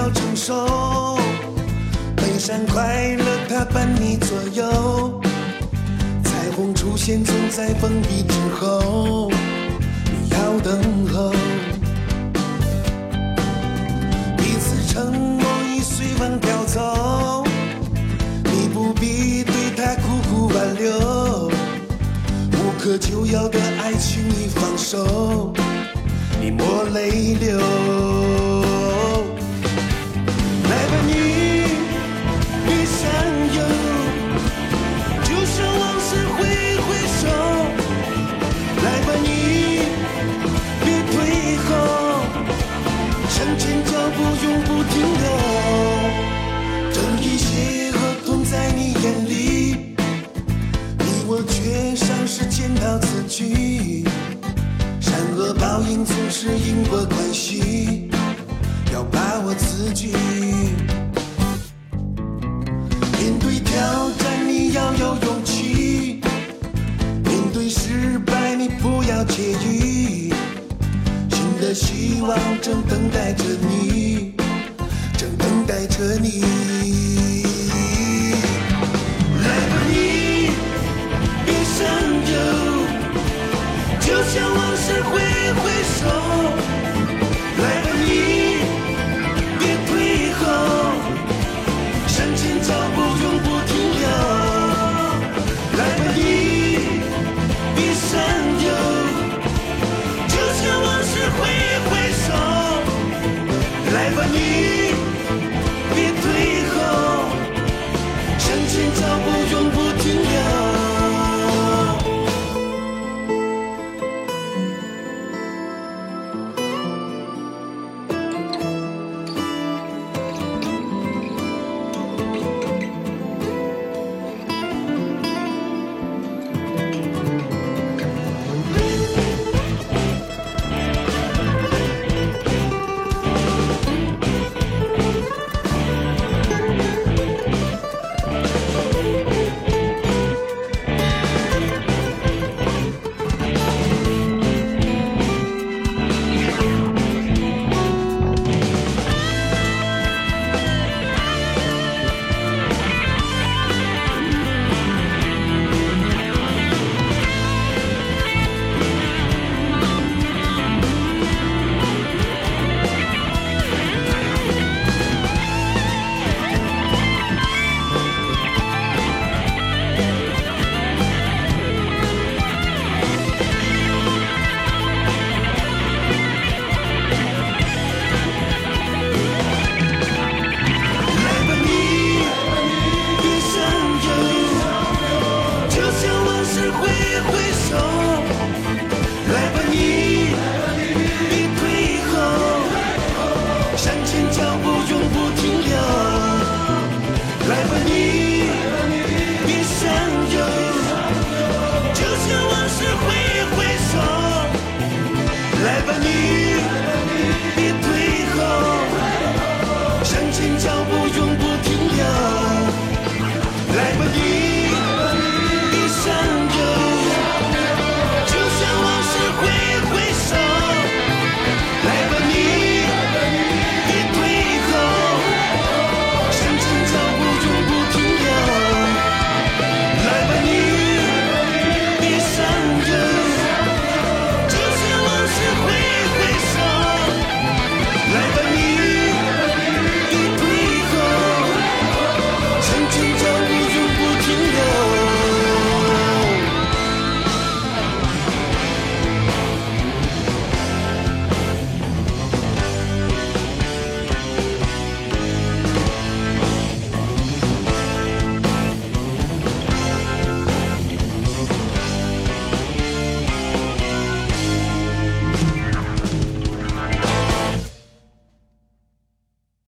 要承受，悲伤快乐它伴你左右，彩虹出现总在风雨之后，你要等候，彼此承诺已随风飘走，你不必对他苦苦挽留，无可救药的爱情已放手，你抹泪流。来吧你，别想有，就像往事挥挥手。来吧你，别退后，向前脚步永不停留。正义邪恶同在你眼里，你我却像是检讨自己。善恶报应总是因果关系，要把握自己。面对挑战你要有勇气，面对失败你不要介意，新的希望正等待着你。